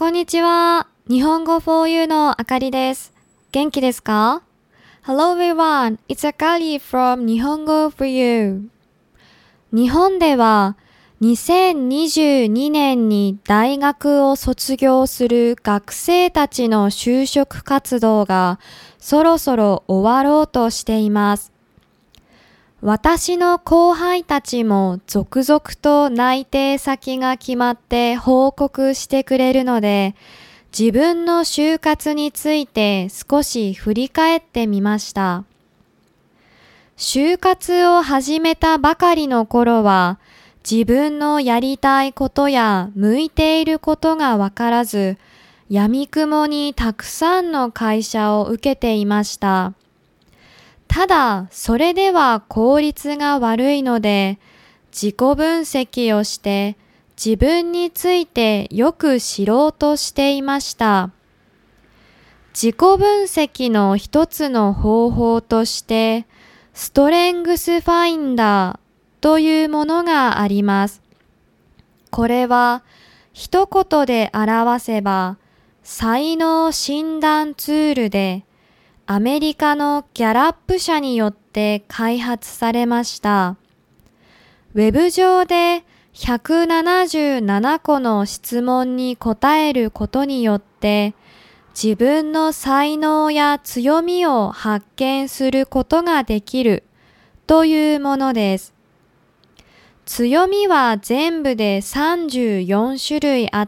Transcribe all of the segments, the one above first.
こんにちは。日本語 for you のあかりです。元気ですか？ Hello everyone, it's Akari from 日本語 for you。日本では2022年に大学を卒業する学生たちの就職活動がそろそろ終わろうとしています。私の後輩たちも続々と内定先が決まって報告してくれるので、自分の就活について少し振り返ってみました。就活を始めたばかりの頃は、自分のやりたいことや向いていることがわからず、闇雲にたくさんの会社を受けていました。ただ、それでは効率が悪いので、自己分析をして自分についてよく知ろうとしていました。自己分析の一つの方法として、ストレングスファインダーというものがあります。これは一言で表せば、才能診断ツールで、アメリカのギャラップ社によって開発されました。ウェブ上で177個の質問に答えることによって、自分の才能や強みを発見することができるというものです。強みは全部で34種類あって、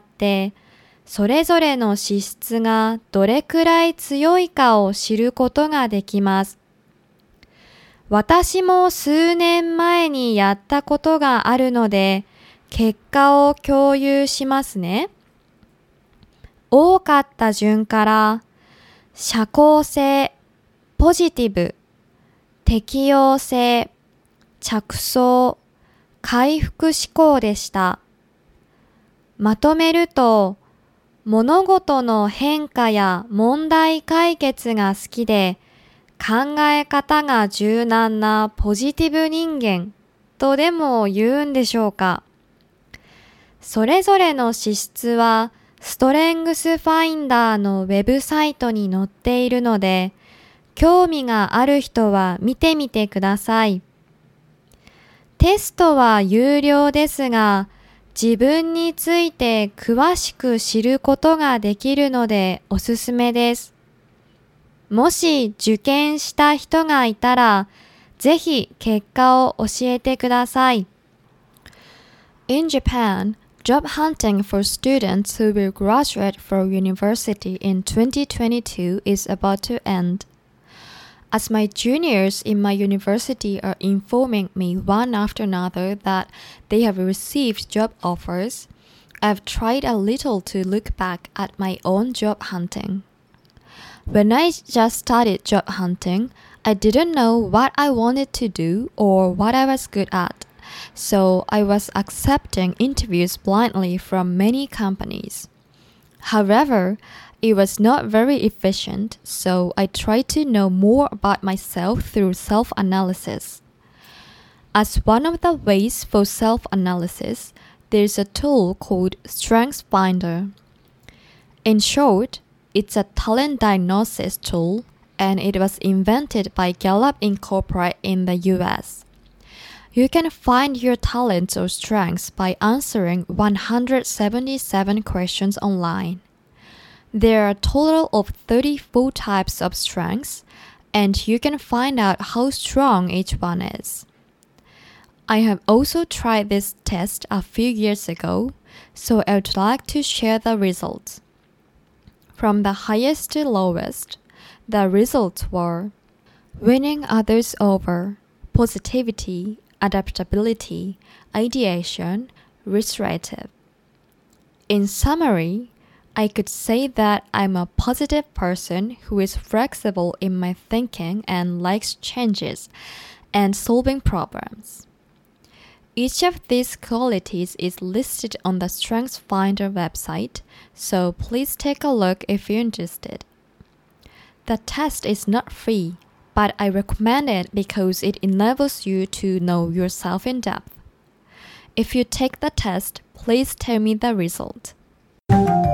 それぞれの資質がどれくらい強いかを知ることができます。私も数年前にやったことがあるので、結果を共有しますね。多かった順から、社交性、ポジティブ、適応性、着想、回復思考でした。まとめると、物事の変化や問題解決が好きで、考え方が柔軟なポジティブ人間とでも言うんでしょうか。それぞれの資質はストレングスファインダーのウェブサイトに載っているので、興味がある人は見てみてください。テストは有料ですが、自分について詳しく知ることができるのでおすすめです。もし受験した人がいたら、ぜひ結果を教えてください。 In Japan, job hunting for students who will graduate from university in 2022 is about to end.As my juniors in my university are informing me one after another that they have received job offers, I've tried a little to look back at my own job hunting. When I just started job hunting, I didn't know what I wanted to do or what I was good at, so I was accepting interviews blindly from many companies. However,It was not very efficient, so I tried to know more about myself through self-analysis. As one of the ways for self-analysis, there's a tool called StrengthsFinder. In short, it's a talent diagnosis tool, and it was invented by Gallup Incorporated in the US. You can find your talents or strengths by answering 177 questions online.There are a total of 34 types of strengths, and you can find out how strong each one is. I have also tried this test a few years ago, so I would like to share the results. From the highest to lowest, the results were winning others over, positivity, adaptability, ideation, restorative. In summary,I could say that I'm a positive person who is flexible in my thinking and likes changes and solving problems. Each of these qualities is listed on the StrengthsFinder website, so please take a look if you're interested. The test is not free, but I recommend it because it enables you to know yourself in depth. If you take the test, please tell me the result.